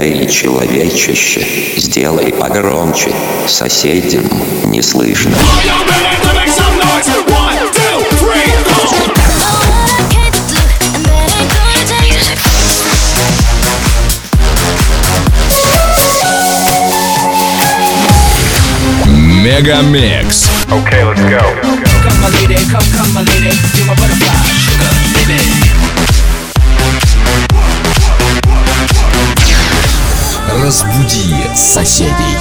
Эй, человечище, сделай погромче, соседям не слышно. Мегамикс. Okay, let's go. Come my lady, come my lady, you're my butterfly, sugar, baby. Разбуди соседей.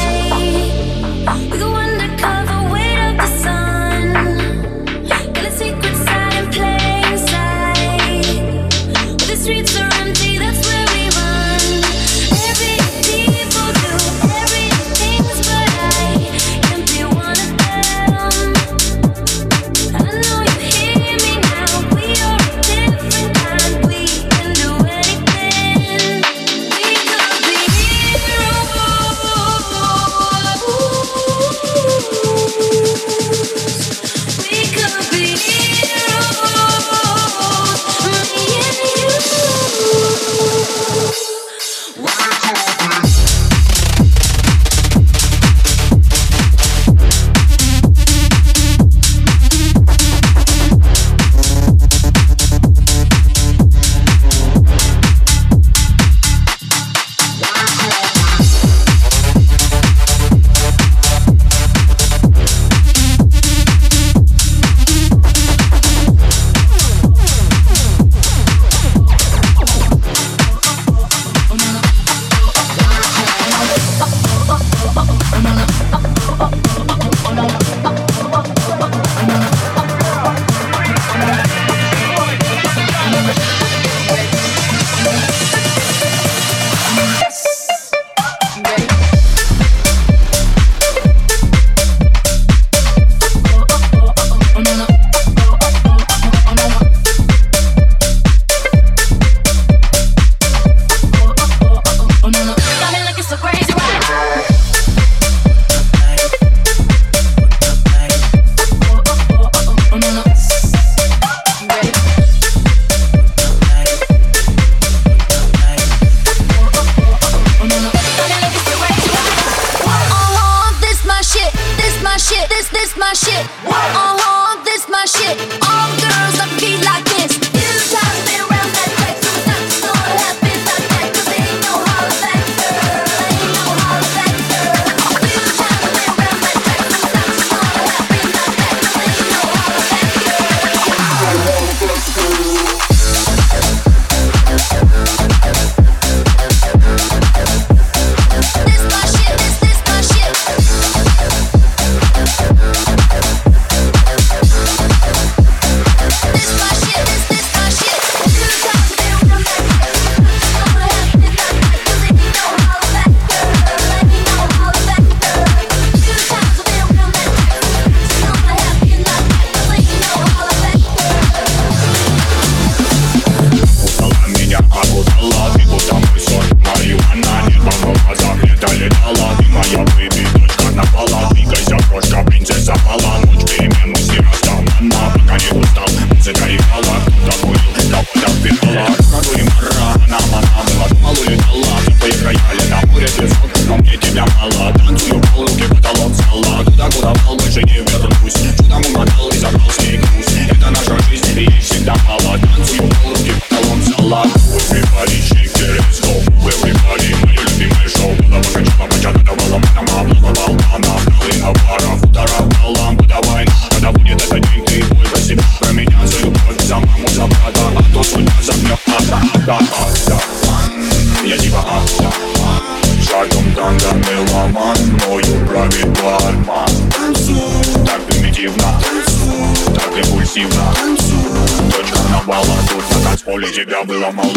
Тебя было мало.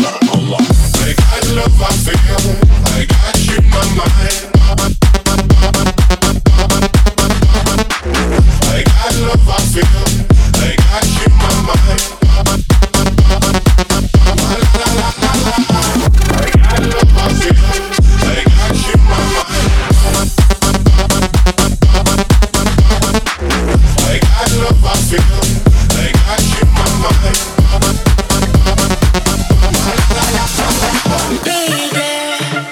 I got love, I feel, I got you in my mind. I got love, I feel, I got you in my mind. I got love, I feel, I got you in my mind. I got love, I feel, I got you in my mind. Baby,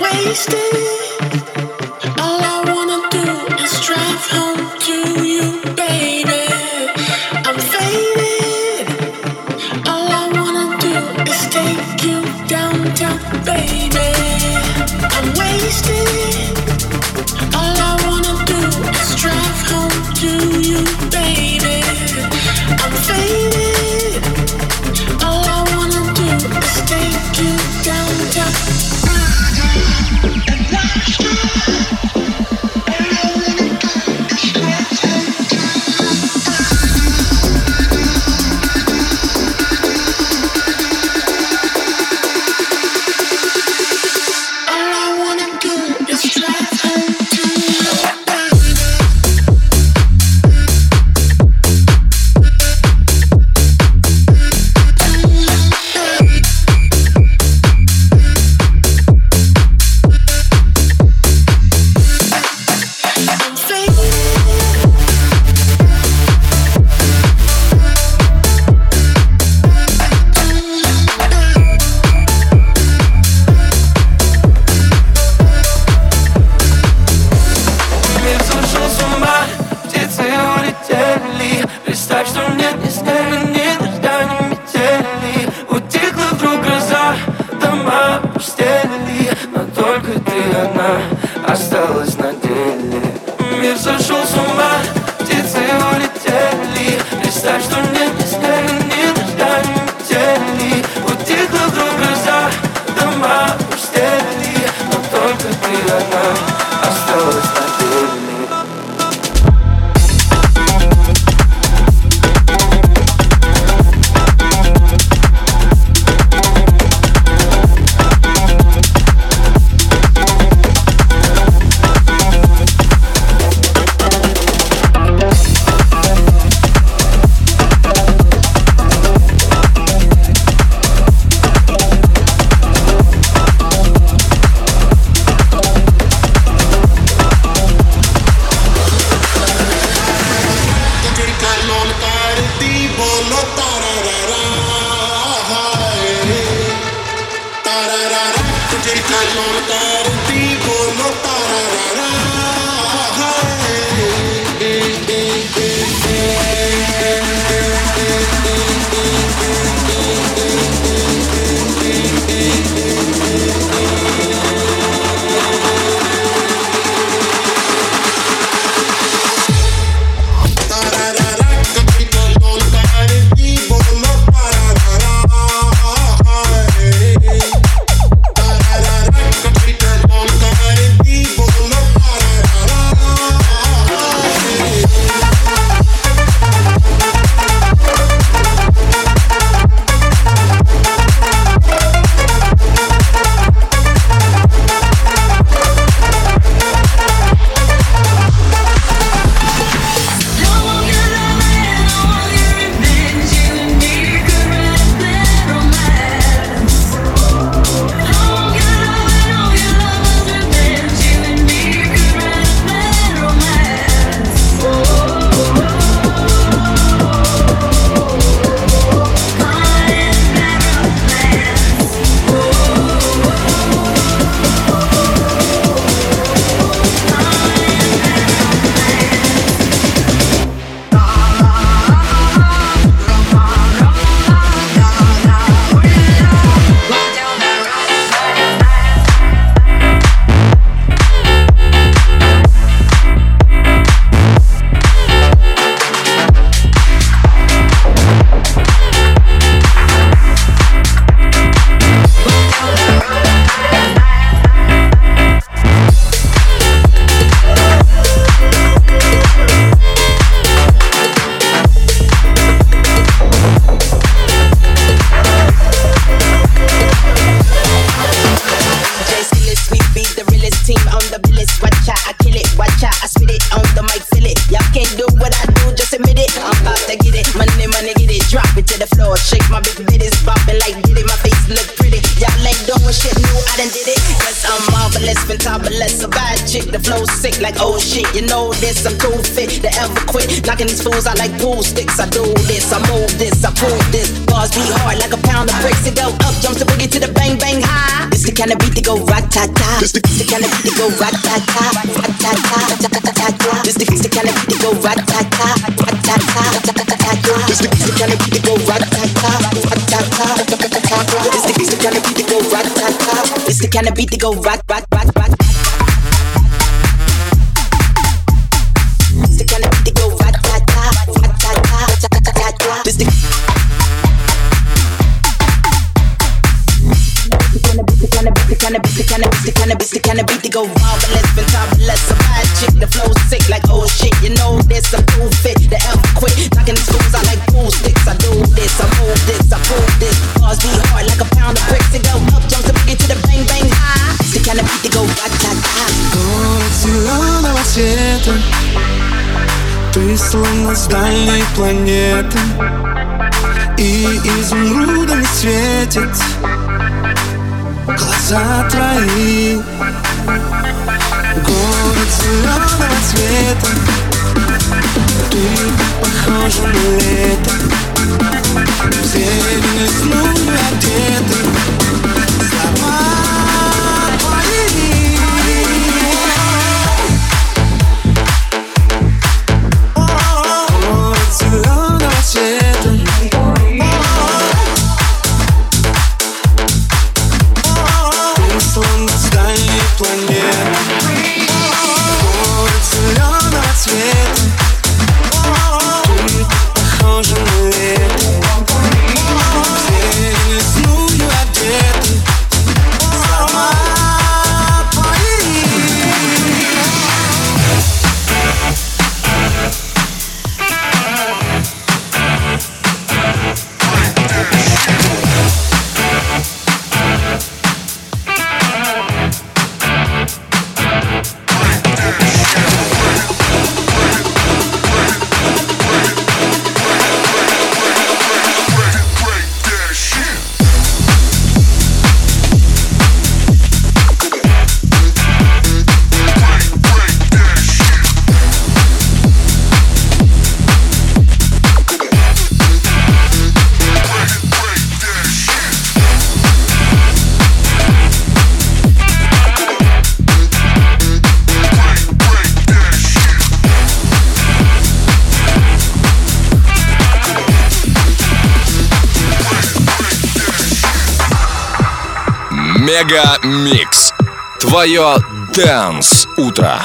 shit new, I done did it. Yes, I'm marvelous. marvelous, fantabulous, a bad chick, the flow sick like oh shit. You know this, I'm too fit to ever quit. Knocking these fools out like pool sticks. I do this, I move this, I prove this. Bars be hard like a pound of bricks. It go up, jumps the boogie to the bang bang high. This the kind of beat to go rat-ta-ta. This the kind of beat to go rat-ta-ta, rat-ta-ta. This the kind of beat to go rat-ta-ta, rat-ta-ta. This the kind of beat to go rat-ta-ta, rat-ta-ta. This the kind of beat to go rat-ta-ta. This the kind of beat to go rat-rat-rat-rat. This the kind of beat to go rat-ta-ta, rat-ta-ta. This the kind of beat to go marvelous, fantabulous, a bad chick, the flow sick like oh shit. You know this, I'm too fit to ever quit. Knocking these fools out like pool sticks. I do this, I move this, I prove this. Bars be hard like a pound of bricks. It go up, jumps the boogie to the bang bang high. It's the kind of beat to go rat-ta-ta. Город зеленого цвета, ты словно с дальней планеты, и изумрудами светит глаза твои. Город зеленого цвета, ты похожа на лето, в зелень лесную одеты. Слова твои. Город зеленого цвета, словно с дальней планеты. Город зеленого цвета, ты похожа на лето, в зелень лесную одеты. Слова твои. Мега Микс. Твое Dance утро.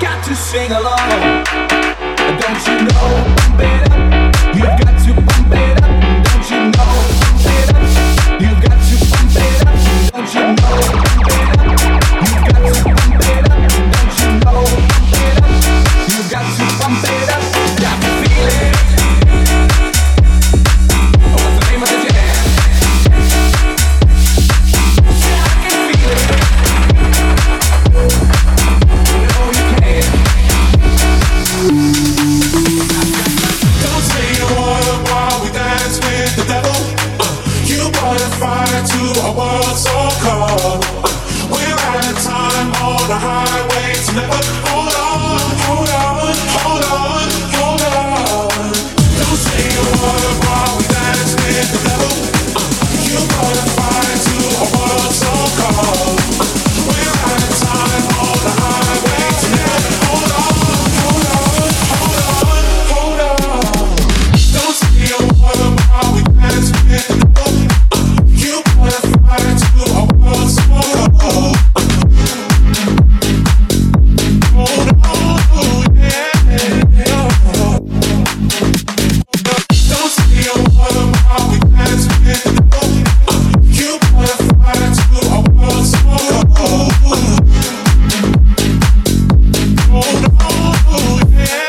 got to sing along. Don't you know, pump it up. You've got to pump it up. Don't you know, pump it up. You've got to pump it up. Don't you know, pump it up. You've got to pump it up. Don't you know, pump it up. You've got to pump it up. Got to feel it. What's the name of the jam? Say I can feel it. You know you can. Don't say a word while we dance with the devil. You brought a fire to a world so cold. We're out of time on the highway to never. Hold on, hold on, hold on, hold on. Don't say a word while we dance with the devil. You brought a fire to a world so cold. We're out of time on the highway to never. Hold on, hold on, hold on, hold on. Don't say a word while we dance with the devil. You brought a fire to a world so cold. Hold on, yeah. Don't say a word while we dance with the devil. You brought a fire to a world so cold. Hold on, yeah.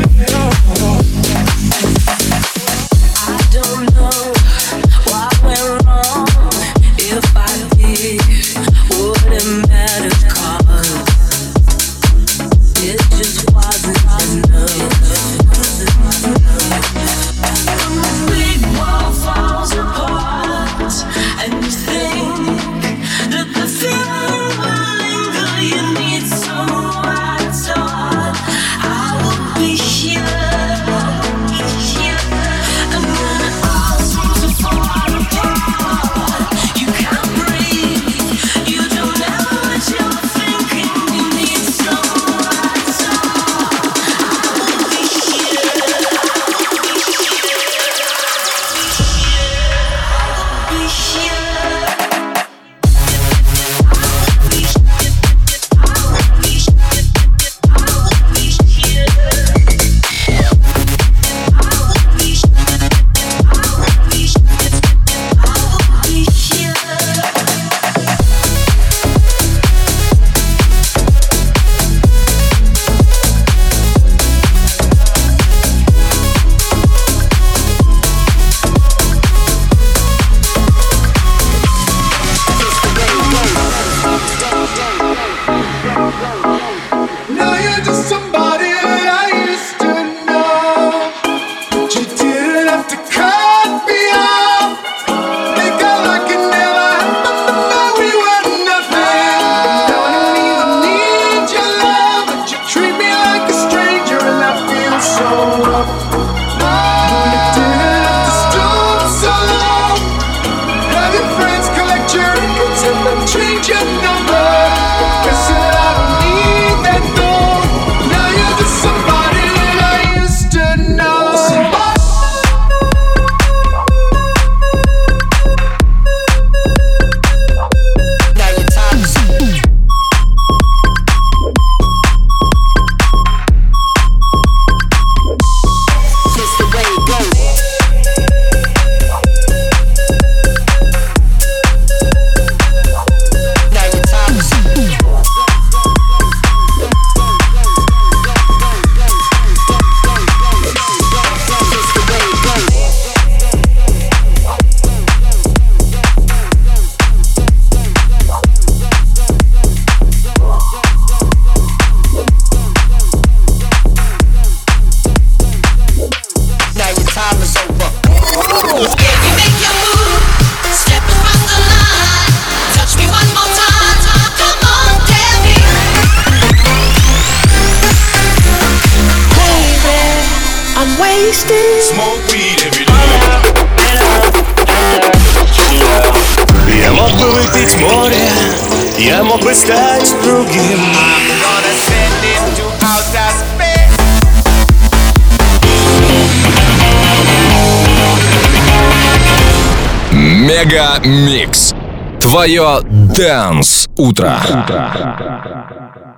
I don't know what went wrong. If I did, wouldn't matter 'cause it just wasn't enough. When the big wall falls apart and you think that the feeling will linger, you need someone to talk. I will be here. And when it all seems to fall apart, you can't breathe. You don't know what you're thinking. You need someone to talk. I will be here. Now you're just somebody that I used to know, but you didn't have to cut me off. Think I like it never happened, that we were nothing. Now I don't even need your love, but you treat me like a stranger, and I feel so rough. No, you didn't have to stoop so low. Have your friends collect your records and then change your number. Guess that I don't need that though. Now you're just somebody that I used to know. Now your time is just the way it goes. Now your time is just the way it goes. Now your time is over. If you make your move, step across the line, touch me one more time. Come on, tell me. I'm wasted. Smoke weed every day. Я мог бы выпить море, я мог бы стать другим. Мега Микс. Твое Dance утро.